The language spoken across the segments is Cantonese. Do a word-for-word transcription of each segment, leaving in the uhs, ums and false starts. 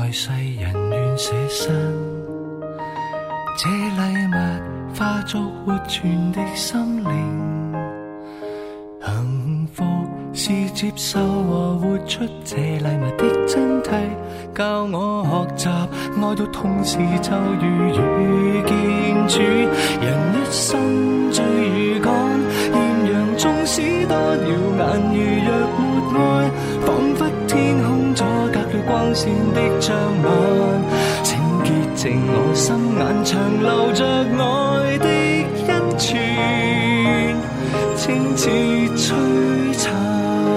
在世人願捨身，這禮物化作活存的心靈，幸福是接受和活出這禮物的真諦，教我學習愛到痛時就如遇見主。人一生最如趕，豔陽縱使多耀眼，如若沒愛，彷彿天空阻隔了光線的障礙。請潔淨我心眼，長留着愛的恩泉，清似璀璨。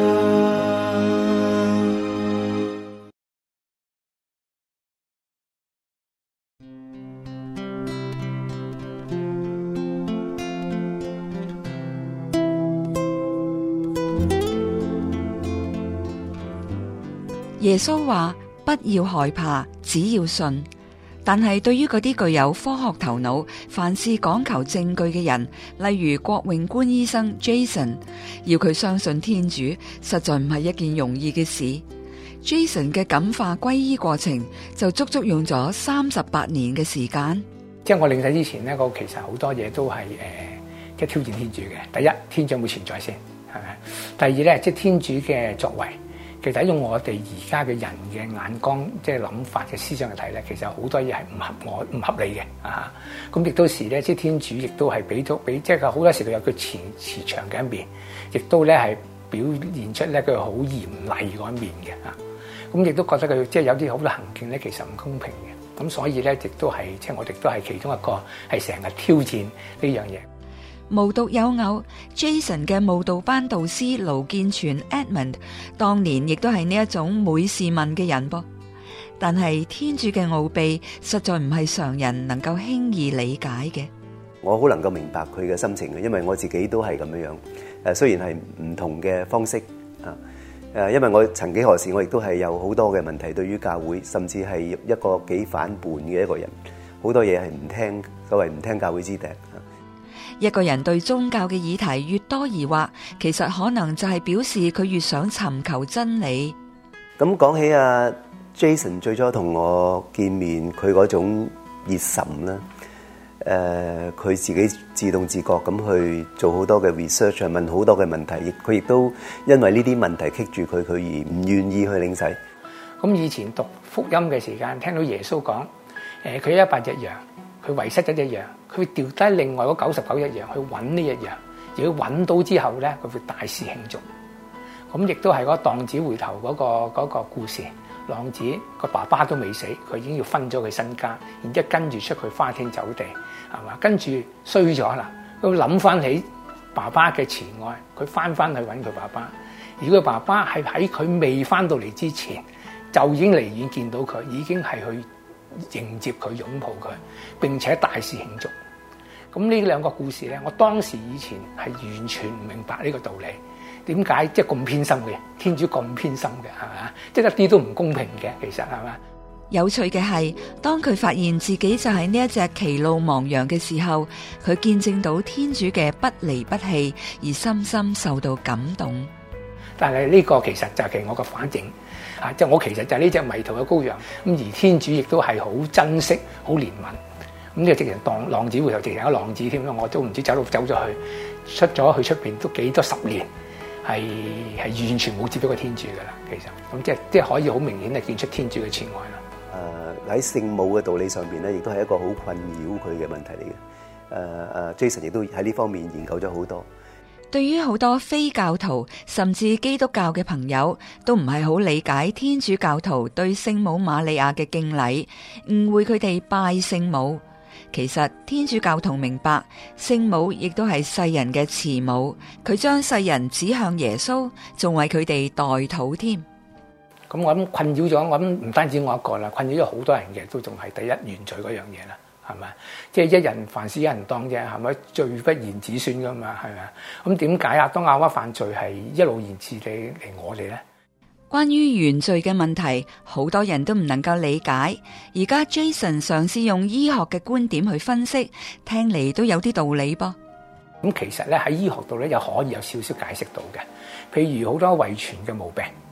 耶穌話：不要害怕，只要信。但係對於嗰啲具有科學頭腦、凡事講求證據嘅人，例如郭永官醫生 Jason， 要佢相信天主，實在唔係一件容易嘅事。Jason 嘅感化皈依過程就足足用咗三十八年嘅時間。 即係我領洗之前咧，我其實好多嘢都係誒、呃，即係挑戰天主嘅。第一，天主有冇存在先，係咪？第二咧，即係天主嘅作為。其實用我哋而家嘅人嘅眼光，即係諗法嘅思想嚟睇咧，其實好多嘢係唔合我唔合理嘅啊！咁亦都時咧，即係天主亦都係俾咗俾，即係好多時佢有佢慈慈祥嘅一面，亦都咧係表現出咧佢好嚴厲嗰一面嘅啊！咁亦都覺得佢即係有啲好多行徑咧，其實唔公平嘅。咁所以咧，亦都係即係我哋都係其中一個係成日挑戰呢樣嘢。 無獨有偶 ，Jason 嘅慕道班導師盧建全 Edmund 當年亦都係呢一種每事問嘅人噃。但係天主嘅奧秘實在唔係常人能夠輕易理解嘅。 我好能夠明白佢嘅心情嘅，因為我自己都係咁樣樣。誒，雖然係唔同嘅方式啊，誒，因為我曾幾何時我亦都係有好多嘅問題，對於教會，甚至係一個幾反叛嘅一個人，好多嘢係唔聽，所謂唔聽教會之笛。 一個人對宗教嘅議題越多疑惑，其實可能就係表示佢越想尋求真理。 咁講起阿 Jason 最初同我見面，佢嗰種熱忱啦，誒、呃，佢自己自動自覺咁去做好多嘅 research，問好多嘅問題，亦佢亦都因為呢啲問題棘住佢，佢而唔願意去領洗。 咁以前讀福音嘅時間，聽到耶穌講，誒，佢一百隻羊。佢遺失咗一樣，佢會掉低另外嗰九十九一樣去揾呢一樣，如果揾到之後咧，佢會大肆慶祝。咁亦都係嗰浪子回頭嗰個嗰個故事，浪子個爸爸都未死，佢已經要分咗佢身家，然之後跟住出去花天酒地，係嘛？跟住衰咗啦，佢諗翻起爸爸嘅慈愛，佢翻翻去揾佢爸爸。如果佢爸爸係喺佢未翻到嚟之前，就已經離遠見到佢，已經係去迎接佢，擁抱佢，並且大肆慶祝。咁呢兩個故事咧，我當時以前係完全唔明白呢個道理，點解即係咁偏心嘅？天主咁偏心嘅，係嘛？即係一啲都唔公平嘅，其實係嘛？ 有趣嘅係，當佢發現自己就係呢一隻歧路亡羊嘅時候，佢見證到天主嘅不離不棄，而深深受到感動。 但係呢個其實就係我嘅反應。啊！即係我其實就係呢隻迷途嘅羔羊，咁而天主亦都係好珍惜、好憐憫。咁呢個直情當浪子回頭，直情一個浪子添啦！我都唔知走路走咗去，出咗去出邊都幾多十年，係係完全冇接觸過天主噶啦。其實咁即係即係可以好明顯係見出天主嘅慈愛啦。 誒喺聖母嘅道理上邊咧，亦都係一個好困擾佢嘅問題嚟嘅。誒誒 Jason 亦都喺呢方面研究咗好多。 對於好多非教徒甚至基督教嘅朋友，都唔係好理解天主教徒對聖母瑪利亞嘅敬禮，誤會佢哋拜聖母。其實天主教徒明白，聖母亦都係世人嘅慈母，佢將世人指向耶穌，仲為佢哋代禱添。 咁我諗困擾咗，我諗唔單止我一個啦，困擾咗好多人嘅，都仲係第一原罪嗰樣嘢啦。係咪？即係一人凡事一人當啫，係咪？罪不言子孫噶嘛，係咪？咁點解啊？當亞娃犯罪係一路延至你嚟我哋咧？ 關於原罪嘅問題，好多人都唔能夠理解。而家 Jason 嘗試用醫學嘅觀點去分析，聽嚟都有啲道理噃。 咁其實咧喺醫學度咧，又可以有少少解釋到嘅。譬如好多遺傳嘅毛病，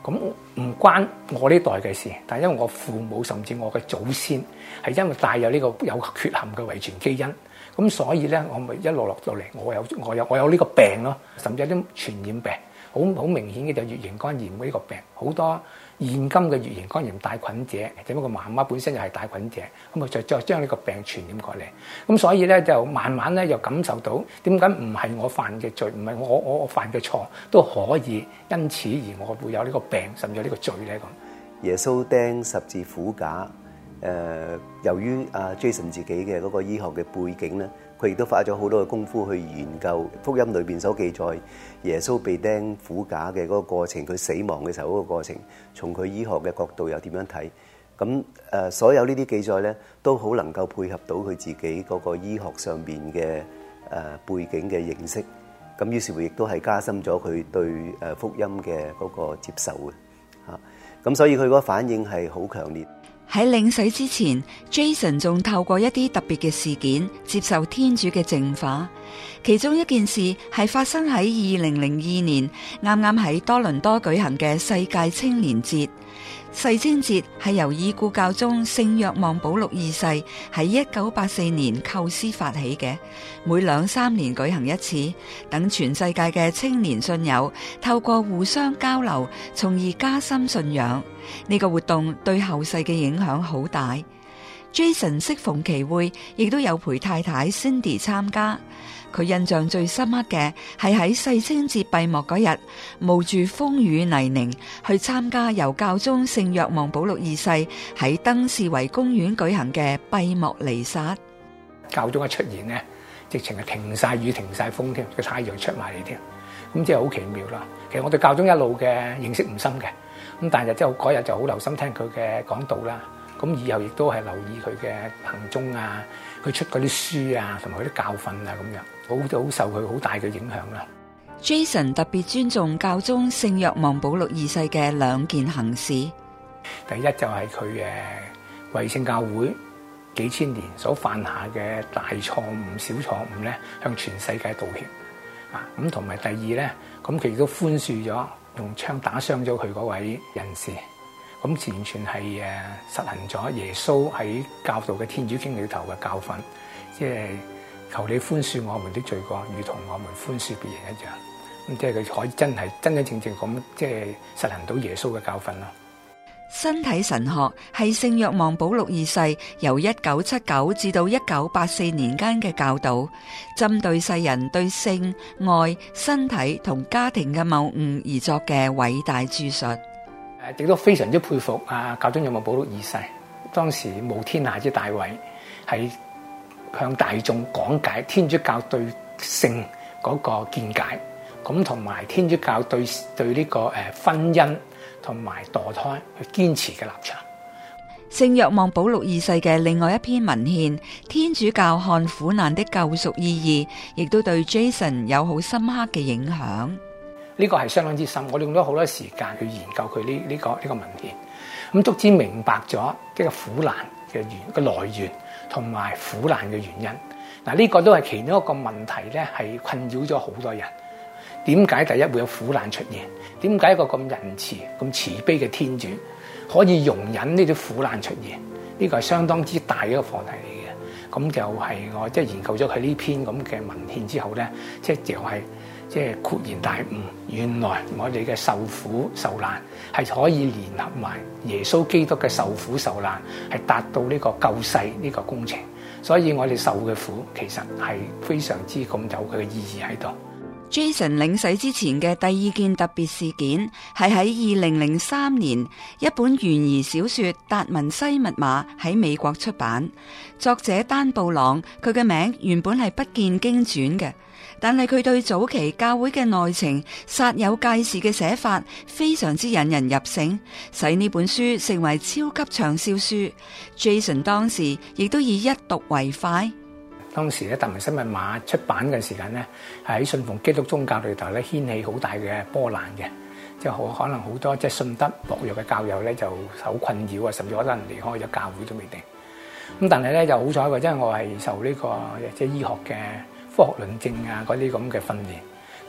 咁唔關我呢代嘅事，但係因為我父母甚至我嘅祖先係因為帶有呢個有缺陷嘅遺傳基因，咁所以咧我咪一路落到嚟，我有我有我有呢個病咯，甚至有啲傳染病，好好明顯嘅就乙型肝炎呢個病，好多現今嘅乙型肝炎帶菌者，只不過媽媽本身又係帶菌者，咁啊再再將呢個病傳染過嚟，咁所以咧就慢慢咧又感受到點解唔係我犯嘅罪，唔係我我我犯嘅錯都可以因此而我會有呢個病，甚至有呢個罪咧咁。 耶穌釘十字苦架，誒、呃，由於阿 Jason 自己嘅嗰個醫學嘅背景咧，佢亦都花咗好多嘅功夫去研究福音裏邊所記載耶穌被釘苦架嘅嗰個過程，佢死亡嘅時候嗰個過程，從佢醫學嘅角度又點樣睇？咁誒、呃，所有呢啲記載咧，都好能夠配合到佢自己嗰個醫學上邊嘅誒背景嘅認識。咁於是乎亦都係加深咗佢對誒福音嘅嗰個接受嘅嚇。咁所以佢嗰個反應係好強烈。 喺領洗之前 ，Jason 仲透過一啲特別嘅事件接受天主嘅淨化。其中一件事係發生喺二零零二年，啱啱喺多倫多舉行嘅世界青年節。世青節係由已故教宗聖若望保祿二世喺一九八四年構思發起嘅，每兩三年舉行一次，等全世界嘅青年信友透過互相交流，從而加深信仰。呢個活動對後世嘅影響好大。Jason 適逢其會，亦都有陪太太 Cindy 參加。佢印象最深刻嘅係喺世青節閉幕嗰日，冒住風雨泥濘去參加由教宗聖若望保祿二世喺登士維公園舉行嘅閉幕彌撒。 教宗一出現咧，直情係停晒雨、停晒風添，個太陽出埋嚟添，咁即係好奇妙啦。其實我對教宗一路嘅認識唔深嘅，咁但係之後嗰日就好留心聽佢嘅講道啦。咁以後亦都係留意佢嘅行蹤啊，佢出嗰啲書啊，同埋佢啲教訓啊，咁樣好好受佢好大嘅影響啦。 Jason 特別尊重教宗聖若望保祿二世嘅兩件行事。 第一就係佢誒為聖教會幾千年所犯下嘅大錯誤、小錯誤咧，向全世界道歉啊！咁同埋第二咧，咁佢亦都寬恕咗用槍打傷咗佢嗰位人士。咁完全係誒實行咗耶穌喺教導嘅天主經裏頭嘅教訓，即係求你寬恕我們的罪過，如同我們寬恕別人一樣。咁即係佢可以真係真真正正咁即係實行到耶穌嘅教訓咯。 身體神學係聖若望保祿二世由一九七九至到一九八四年間嘅教導，針對世人對性、愛、身體同家庭嘅謬誤而作嘅偉大著述。 誒，亦都非常之佩服啊！教宗若望保祿二世當時無天下之大偉，係向大眾講解天主教對性嗰個見解，咁同埋天主教對對呢個誒婚姻同埋墮胎去堅持嘅立場。 聖若望保祿二世嘅另外一篇文獻《天主教看苦難的救贖意義》，亦都對 Jason 有好深刻嘅影響。 呢個係相當之深，我哋用咗好多時間去研究佢呢呢個呢、這個文獻，咁足之明白咗呢個苦難嘅源嘅來源同埋苦難嘅原因。嗱，呢個都係其中一個問題咧，係困擾咗好多人。點解第一會有苦難出現？點解一個咁仁慈、咁慈悲嘅天主可以容忍呢啲苦難出現？呢、這個係相當之大嘅一個課題嚟嘅。咁就係我即係研究咗佢呢篇咁嘅文獻之後咧，即係就係、是。即係豁然大悟，原來我哋嘅受苦受難係可以聯合埋耶穌基督嘅受苦受難，係達到呢個救世呢個工程。所以我哋受嘅苦其實係非常之咁有佢嘅意義喺度。 Jason 領洗之前嘅第二件特別事件係喺二零零三年，一本懸疑小說《達文西密碼》喺美國出版。作者丹布朗，佢嘅名原本係不見經傳嘅，但係佢對早期教會嘅內情煞有介事嘅寫法非常之引人入勝，使呢本書成為超級暢銷書。Jason 當時亦都以一讀為快。 當時咧《達文西密碼》出版嘅時間咧，喺信奉基督宗教裏頭咧掀起好大嘅波瀾嘅，即係可可能好多即係信德薄弱嘅教友咧就好困擾啊，甚至可能離開咗教會都未定。咁但係咧就好彩嘅，因為我係受呢個即係醫學嘅科學論證啊嗰啲咁嘅訓練，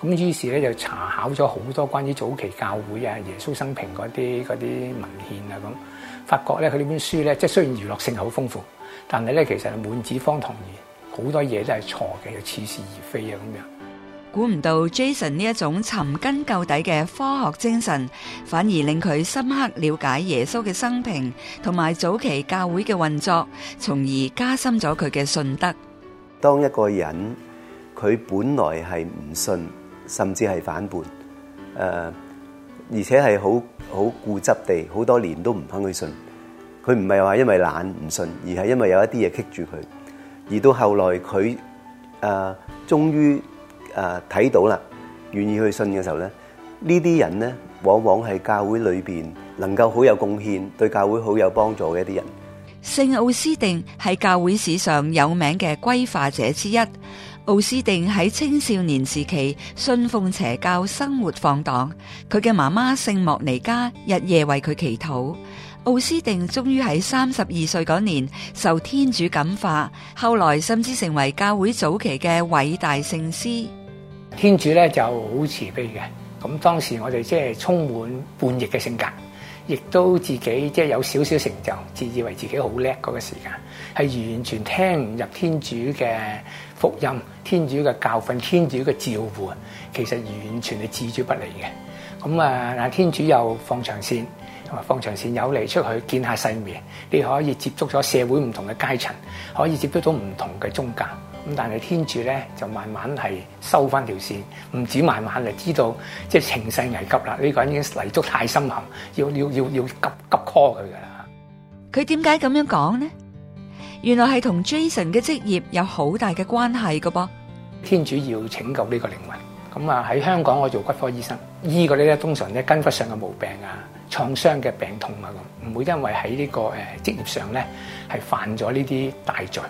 咁於是咧就查考咗好多關於早期教會啊、耶穌生平嗰啲嗰啲文獻啊，咁發覺咧佢呢本書咧，即係雖然娛樂性好豐富，但係咧其實係滿紙荒唐言，好多嘢都係錯嘅，又似是而非啊咁樣。 估唔到 Jason 呢一種尋根究底嘅科學精神，反而令佢深刻了解耶穌嘅生平同埋早期教會嘅運作，從而加深咗佢嘅信德。 當一個人佢本來係唔信，甚至係反叛，誒、呃，而且係好好固執地，好多年都唔肯去信。佢唔係話因為懶唔信，而係因為有一啲嘢棘住佢。而到後來佢誒終於誒睇到啦，願意去信嘅時候咧，呢啲人咧往往係教會裏邊能夠好有貢獻，對教會好有幫助嘅一啲人。 聖奧斯定係教會史上有名嘅歸化者之一。奧斯定喺青少年時期信奉邪教，生活放蕩。佢嘅媽媽聖莫尼加日夜為佢祈禱。奧斯定終於喺三十二歲嗰年受天主感化，後來甚至成為教會早期嘅偉大聖師。 天主咧就好慈悲嘅，咁當時我哋即係充滿叛逆嘅性格，亦都自己即係有少少成就，自以為自己好叻嗰個時間，係完全聽唔入天主嘅福音、天主嘅教訓、天主嘅召喚，其實完全係置諸不理嘅。咁啊，但天主又放長線，同埋放長線有嚟出去見下世面，你可以接觸咗社會唔同嘅階層，可以接觸到唔同嘅宗教。咁但係天主咧就慢慢係收翻條線，唔止慢慢嚟知道即係情勢危急啦，呢、這個人已經泥足太深陷，要要要要急急 call 佢噶啦。 佢點解咁樣講呢？原來係同 Jason 嘅職業有好大嘅關係噶噃。 天主要拯救呢個靈魂，咁啊喺香港我做骨科醫生，醫嗰啲咧通常咧筋骨上嘅毛病啊、創傷嘅病痛啊咁，唔會因為喺呢、這個誒、呃、職業上咧係犯咗呢啲大罪。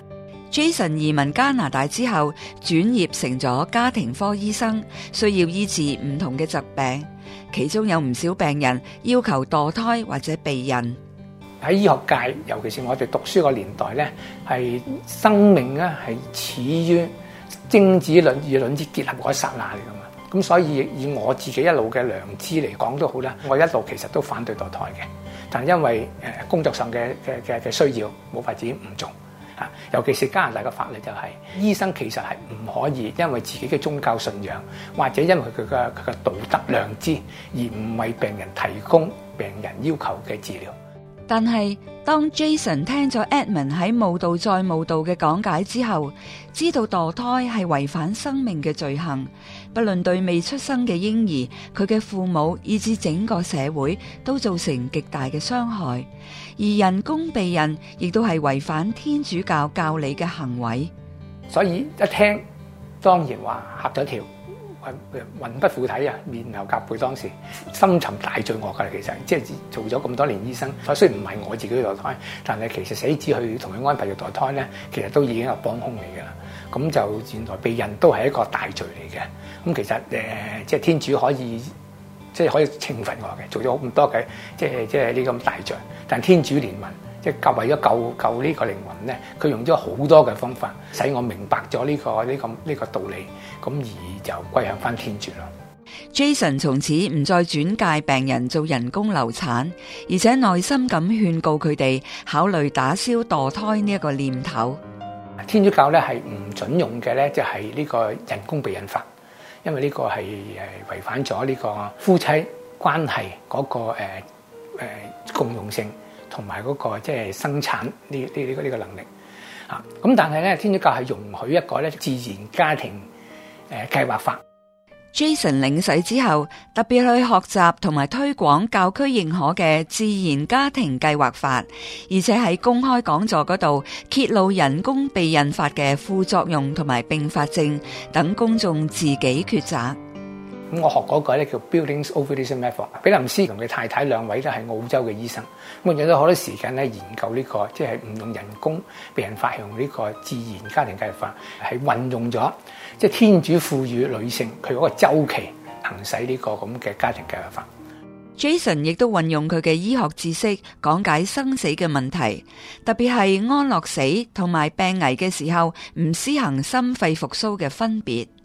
Jason 移民加拿大之後，轉業成咗家庭科醫生，需要醫治唔同嘅疾病，其中有唔少病人要求墮胎或者避孕。 喺醫學界，尤其是我哋讀書個年代咧，係生命咧係始於精子卵與卵子結合嗰一剎那嚟噶嘛。咁所以以我自己一路嘅良知嚟講都好啦，我一路其實都反對墮胎嘅，但係因為誒工作上嘅嘅嘅嘅需要，冇法子唔做。啊，尤其是加拿大嘅法律就係、是，醫生其實係唔可以因為自己嘅宗教信仰，或者因為佢嘅佢嘅道德良知，而唔為病人提供病人要求嘅治療。 但係當 Jason 聽咗 Edmund 喺慕道再慕道嘅講解之後，知道墮胎係違反生命嘅罪行，不論對未出生嘅嬰兒、佢嘅父母以至整個社會都造成極大嘅傷害，而人工避孕亦都係違反天主教教理嘅行為。 所以一聽當然話嚇咗一跳，魂不附體啊，面流浹背，當時深沉大罪惡噶啦。其實即係做咗咁多年醫生，雖然唔係我自己墮胎，但係其實死子去同佢安排要墮胎咧，其實都已經係幫兇嚟噶啦。咁就原來避孕都係一個大罪嚟嘅。咁其實誒、呃，即係天主可以即係可以懲罰我嘅，做咗咁多嘅即係即係呢咁大罪，但天主憐憫。即係救為咗救救呢個靈魂咧，佢用咗好多嘅方法，使我明白咗呢、這個呢、這個呢、這個道理，咁而就歸向翻天主咯。 Jason 從此唔再轉介病人做人工流產，而且耐心咁勸告佢哋考慮打消墮胎呢一個念頭。 天主教咧係唔準用嘅咧，就係呢個人工避孕法，因為呢個係誒違反咗呢個夫妻關係嗰、那個誒誒、呃、共用性。同埋嗰個即係生產呢呢呢個呢個能力啊，咁但係咧天主教係容許一個咧自然家庭誒計劃法。 Jason 領洗之後，特別去學習同埋推廣教區認可嘅自然家庭計劃法，而且喺公開講座嗰度揭露人工避孕法嘅副作用同埋併發症，等公眾自己抉擇。 咁我學嗰個咧叫 Billings Ovulation Method， 比林斯同佢太太兩位都係澳洲嘅醫生，咁用咗好多時間咧研究呢、這個即係唔用人工避孕法，用呢個自然家庭計劃法，係運用咗即係天主賦予女性佢嗰個週期行使呢個咁嘅家庭計劃法。 Jason 亦都運用佢嘅醫學知識講解生死嘅問題，特別係安樂死同埋病危嘅時候唔施行心肺復甦嘅分別。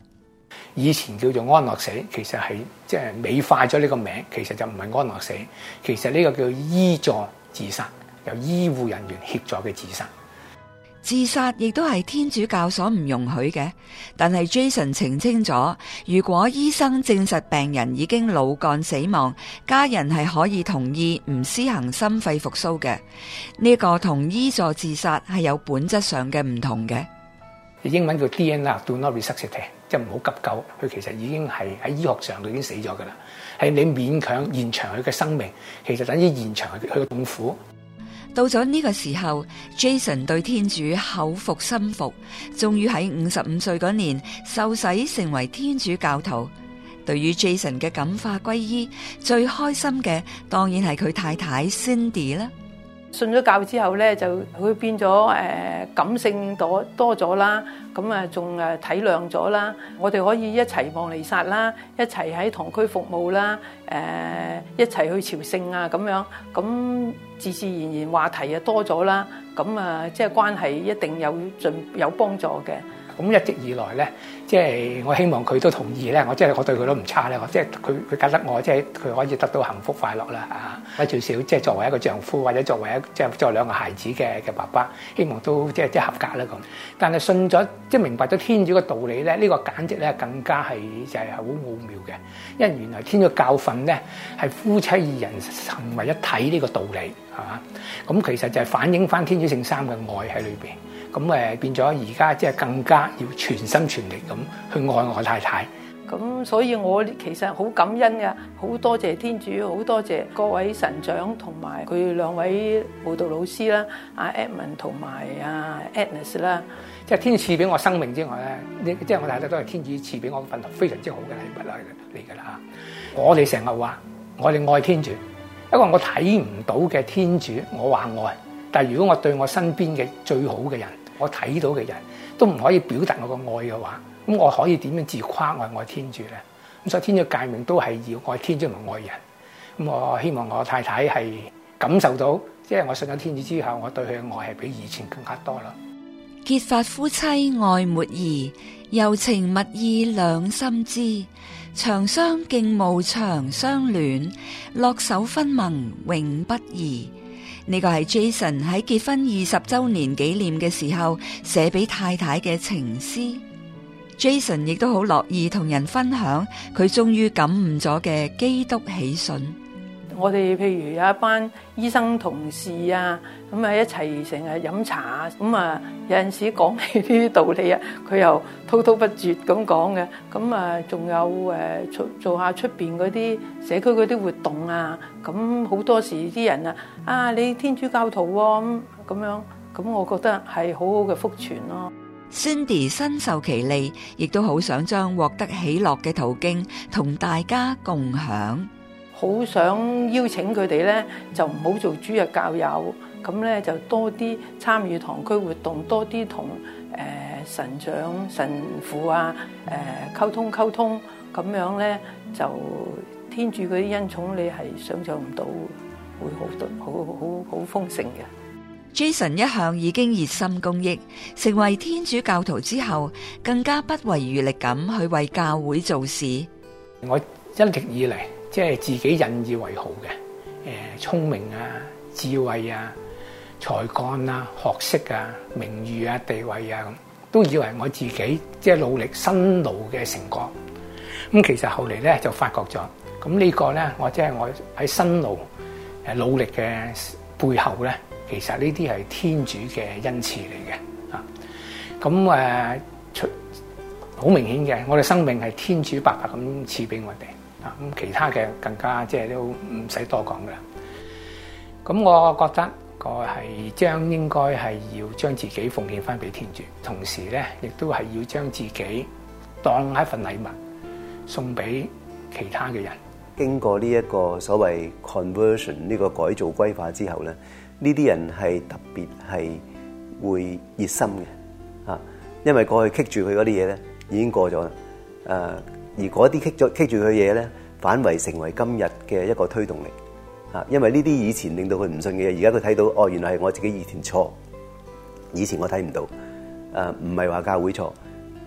以前叫做安樂死，其實係即係美化咗呢個名，其實就唔係安樂死，其實呢個叫醫助自殺，由醫護人員協助嘅自殺。 自殺亦都係天主教所唔容許嘅，但係 Jason 澄清咗，如果醫生證實病人已經腦幹死亡，家人係可以同意唔施行心肺復甦嘅。呢個同醫助自殺係有本質上嘅唔同嘅。 英文叫 D N R，do not resuscitate， 即係唔好急救，佢其實已經係喺醫學上佢已經死咗噶啦，係你勉強延長佢嘅生命，其實等於延長佢佢嘅痛苦。 到咗呢個時候 ，Jason 對天主口服心服，終於喺五十五歲嗰年受洗成為天主教徒。對於 Jason 嘅感化皈依，最開心嘅當然係佢太太 Cindy 啦。 信咗教之後咧，就會變咗誒、呃、感性多多咗啦，咁啊仲誒體諒咗啦。我哋可以一齊望彌撒啦，一齊喺堂區服務啦，誒、呃、一齊去朝聖啊咁樣，咁自自然然話題啊多咗啦，咁啊即係關係一定有進有幫助嘅。 咁一直以來咧，即係我希望佢都同意咧，我即係我對佢都唔差咧，我即係佢佢覺得我即係佢可以得到幸福快樂啦啊！或者最少即係作為一個丈夫或者作為一即係作為兩個孩子嘅嘅爸爸，希望都即係即係合格啦咁。但係信咗即係明白咗天主嘅道理咧，呢個簡直咧更加係就係好奧妙嘅，因為原來天主嘅教訓咧係夫妻二人成為一體呢個道理係嘛？咁其實就係反映翻天主聖三嘅愛喺裏邊。咁誒變咗而家即係更加要全心全力咁去愛我太太。 咁所以我其實好感恩嘅，好多謝天主，好多謝各位神長同埋佢兩位舞蹈老師啦，阿 Edmund 同埋阿 Agnes 啦。 即係天主賜俾我生命之外咧，即係我太太都係天主賜俾我份非常之好嘅禮物啦嚟㗎啦。我哋成日話我哋愛天主，一個我睇唔到嘅天主，我話愛。但係如果我對我身邊嘅最好嘅人，我睇到嘅人都唔可以表達我個愛嘅話，咁我可以點樣自誇我愛天主咧？咁所以天主誡命都係要愛天主同愛人。咁我希望我太太係感受到，即係我信咗天主之後，我對佢嘅愛係比以前更加多啦。 結發夫妻愛沒疑，柔情蜜意兩心知，長相敬慕長相戀，落手分盟永不移。呢個係 Jason 喺結婚二十周年紀念嘅時候寫俾太太嘅情詩。Jason 亦都好樂意同人分享佢終於感悟咗嘅基督喜訊。 我哋譬如有一班醫生同事啊，咁啊一齊成日飲茶，咁啊有陣時講起呢啲道理啊，佢又滔滔不絕咁講嘅。咁啊仲有誒做做下出邊嗰啲社區嗰啲活動啊，咁好多時啲人啊，啊你天主教徒喎咁咁樣，咁我覺得係好好嘅福傳咯。 Cindy 身受其利，亦都好想將獲得喜樂嘅途徑同大家共享。 好想邀請佢哋咧，就唔好做主日教友，咁咧就多啲參與堂區活動，多啲同誒神長、神父啊誒、呃、溝通溝通，咁樣咧就天主嗰啲恩寵，你係想象唔到，會好多好好好豐盛嘅。 Jason 一向已經熱心公益，成為天主教徒之後，更加不遺餘力咁去為教會做事。 我一直以嚟，即係自己引以為豪嘅，誒聰明啊、智慧啊、才幹啊、學識啊、名譽啊、地位啊，咁都以為我自己即係努力辛勞嘅成果。咁其實後嚟咧就發覺咗，咁呢個咧我即係我喺辛勞誒努力嘅背後咧，其實呢啲係天主嘅恩賜嚟嘅啊。咁誒出好明顯嘅，我哋生命係天主白白咁賜俾我哋。啊，咁其他嘅更加即係都唔使多講噶啦。咁我覺得我係將應該係要將自己奉獻翻俾天主，同時咧亦都係要將自己當一份禮物送俾其他嘅人。 經過呢一個所謂 conversion 呢個改造歸化之後咧，呢啲人係特別係會熱心嘅啊，因為過去棘住佢嗰啲嘢咧已經過咗啦，誒、啊。而嗰啲棘咗棘住佢嘢咧，反為成為今日嘅一個推動力啊！因為呢啲以前令到佢唔信嘅嘢，而家佢睇到哦，原來係我自己以前錯，以前我睇唔到，誒唔係話教會錯，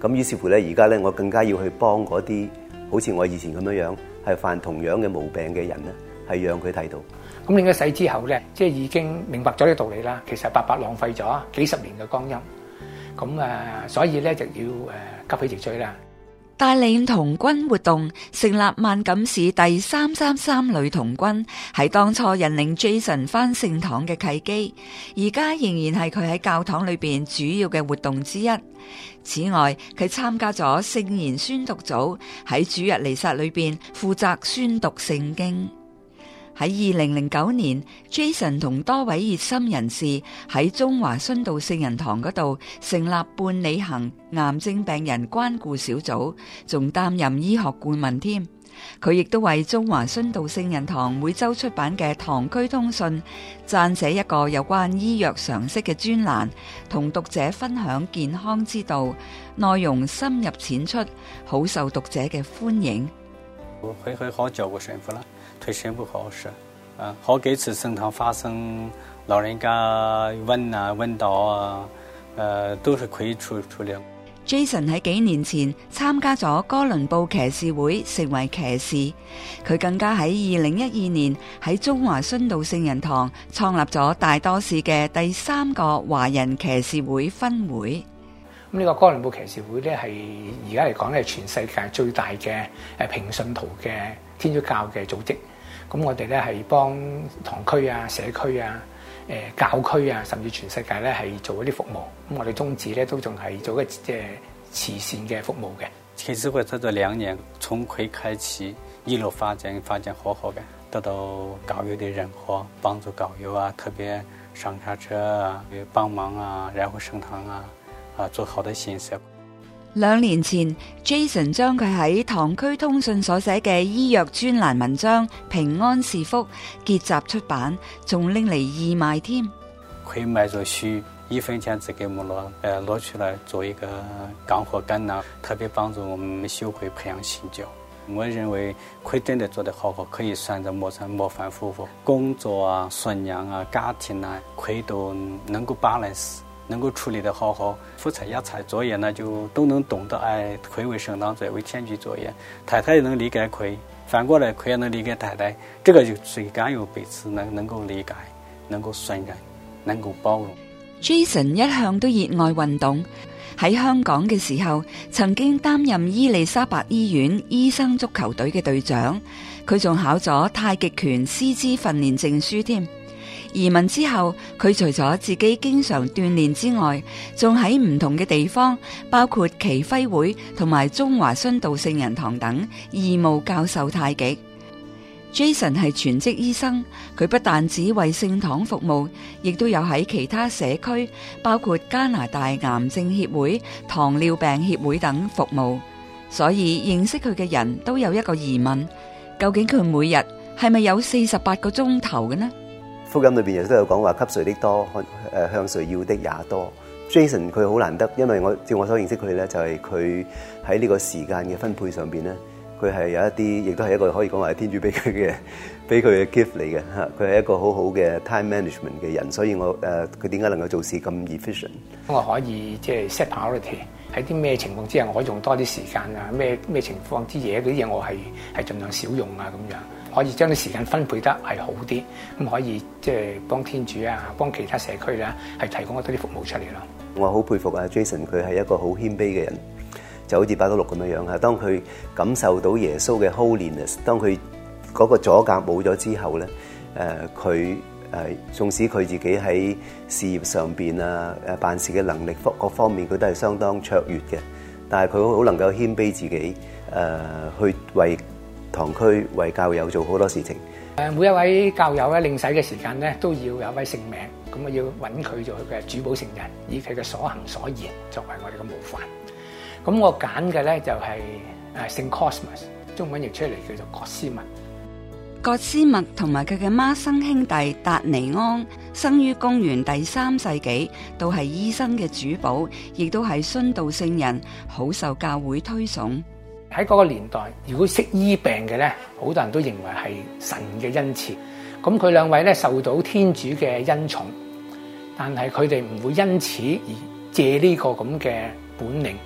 咁於是乎咧，而家咧我更加要去幫嗰啲好似我以前咁樣樣係犯同樣嘅毛病嘅人咧，係讓佢睇到。 咁領咗洗之後咧，即係已經明白咗呢個道理啦。其實白白浪費咗幾十年嘅光陰。咁啊，所以咧就要誒急起直追啦。 帶領童軍活動，成立萬錦市第三三三女童軍，係當初引領 Jason 返聖堂嘅契機，而家仍然係佢喺教堂裏邊主要嘅活動之一。此外，佢參加咗聖言宣讀組，喺主日彌撒裏邊負責宣讀聖經。喺二零零九年 ，Jason 同多位熱心人士喺中華殉道聖人堂嗰度成立伴你行癌症病人關顧小組，仲擔任醫學顧問添。佢亦都為中華殉道聖人堂每周出版嘅《堂區通訊》撰寫一個有關醫藥常識嘅專欄，同讀者分享健康之道，內容深入淺出，好受讀者嘅歡迎。 我會會好照顧神父啦，對神父好事，啊，好幾次聖堂發生老人家暈啊暈倒啊，呃，都是可以處處理。 Jason 喺幾年前參加咗哥倫布騎士會，成為騎士。佢更加喺二零一二年喺中華殉道聖人堂創立咗大多市嘅第三個華人騎士會分會。 咁呢個哥倫布騎士會咧，係而家嚟講咧，係全世界最大嘅誒平信徒嘅天主教嘅組織。咁我哋咧係幫堂區啊、社區啊、誒教區啊，甚至全世界咧係做一啲服務。咁我哋宗旨咧都仲係做一個即係慈善嘅服務嘅。 騎士會在這兩年從葵開啟，一路發展發展好好嘅，得到教友的認可，幫助教友啊，特別上下車啊，幫忙啊，然後聖堂啊。啊，做好的信息。 兩年前 ，Jason 將佢喺堂區通訊所寫嘅醫藥專欄文章《平安是福》結集出版，仲拎嚟義賣添。 佢賣咗書，一分錢只給我攞，誒攞出來做一個乾貨乾糧，特別幫助我們修會培養信教。我認為佢真的做得好好，可以算在模範模範夫婦，工作啊、信仰啊、家庭啊，佢都能夠 balance。能夠處理得好好，夫妻一齊作業呢，就都能懂得愛佢為聖堂作業為天主作業，太太也能理解佢，反過來佢也能理解太太，這個就最緊要彼此能能夠理解，能夠信任，能夠包容。 Jason 一向都熱愛運動，喺香港嘅時候曾經擔任伊利沙伯醫院醫生足球隊嘅隊長，佢仲考咗太極拳師資訓練證書添。移民之後，佢除咗自己經常鍛煉之外，仲喺唔同嘅地方，包括耆輝會同埋中華殉道聖人堂等，義務教授太極。Jason 係全職醫生，佢不但只為聖堂服務，亦都有喺其他社區，包括加拿大癌症協會、糖尿病協會等服務。所以認識佢嘅人都有一個疑問：究竟佢每日係咪有四十八個鐘頭嘅呢？ 福音裏邊亦都有講話，給誰的多，誒向誰要的也多。Jason 佢好難得，因為我照我所認識佢咧，就係佢喺呢個時間嘅分配上邊咧，佢係有一啲，亦都係一個可以講話係天主俾佢嘅，俾佢嘅 gift 嚟嘅嚇。佢係一個好好嘅 time management 嘅人，所以我誒佢點解能夠做事咁 efficient？ 我可以即係 set priority，喺啲咩情況之下，我可以用多啲時間啊，咩咩情況之嘢嗰啲嘢，我係係盡量少用啊咁樣。可以將啲時間分配得係好啲，咁可以即係幫天主啊，幫其他社區咧，係提供多啲服務出嚟咯。 我好佩服啊 Jason，佢係一個好謙卑嘅人，就好似伯多祿咁樣樣嚇。當佢感受到耶穌嘅 holiness， 當佢嗰個阻隔冇咗之後咧，誒佢誒縱使佢自己喺事業上邊啊、誒辦事嘅能力各各方面，佢都係相當卓越嘅，但係佢好能夠謙卑自己，誒、呃、去為堂區為教友做好多事情。 誒，每一位教友咧領洗嘅時間咧，都要有一位聖名，咁啊要揾佢做佢嘅主保聖人，以佢嘅所行所言作為我哋嘅模範。咁我揀嘅咧就係誒聖 Cosmas， 中文譯出嚟叫做葛斯默。 葛斯默同埋佢嘅孖生兄弟達尼安，生於公元第三世紀，都係醫生嘅主保，亦都係殉道聖人，好受教會推崇。 喺嗰個年代，如果識醫病嘅咧，好多人都認為係神嘅恩賜。咁佢兩位咧受到天主嘅恩寵，但係佢哋唔會因此而借呢個咁嘅本領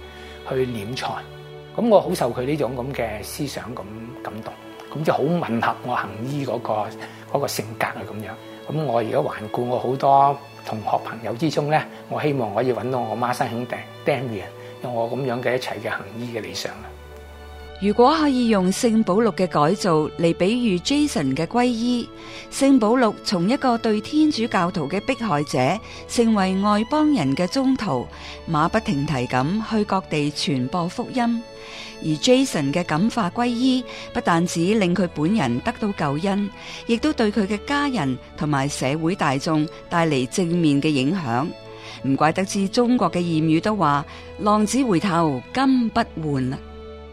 去斂財。咁我好受佢呢種咁嘅思想咁感動，咁就好吻合我行醫嗰個嗰個性格啊咁樣。咁我而家環顧我好多同學朋友之中咧，我希望可以揾到我孖生兄弟 Damian， 用我咁樣嘅一齊嘅行醫嘅理想啊。 如果可以用聖保祿嘅改造嚟比喻 Jason 嘅皈依，聖保祿從一個對天主教徒嘅迫害者，成為外邦人嘅宗徒，馬不停蹄咁去各地傳播福音。而 Jason 嘅感化皈依，不但止令佢本人得到救恩，亦都對佢嘅家人同埋社會大眾帶嚟正面嘅影響。唔怪得知中國嘅諺語都話：浪子回頭金不換啊！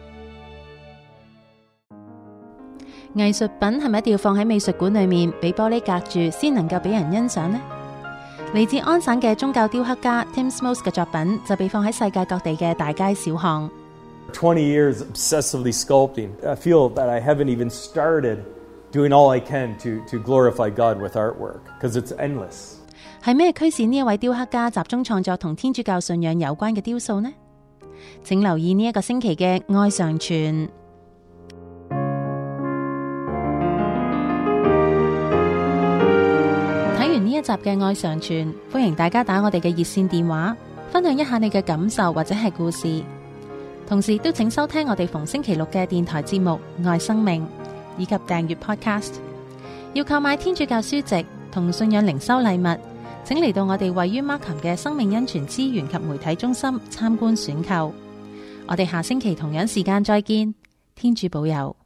藝術品係咪一定要放喺美術館裏面，俾玻璃隔住先能夠俾人欣賞呢？嚟自安省嘅宗教雕刻家 Tim Smoke 嘅作品就被放喺世界各地嘅大街小巷。 twenty years obsessively sculpting. I feel that I haven't even started doing all I can to, to glorify God with artwork, because it's endless. 係咩驅使呢一位雕刻家集中創作同天主教信仰有關嘅雕塑呢？請留意呢一個星期嘅愛常傳。睇完呢一集嘅愛常傳，歡迎大家打我哋嘅熱線電話，分享一下你嘅感受或者係故事。同時都請收聽我哋逢星期六嘅電台節目《愛生命》，以及訂閱 Podcast。要購買天主教書籍同信仰靈修禮物，請嚟到我哋位於 Markham 嘅生命恩泉資源及媒體中心參觀選購。我哋下星期同樣時間再見，天主保佑。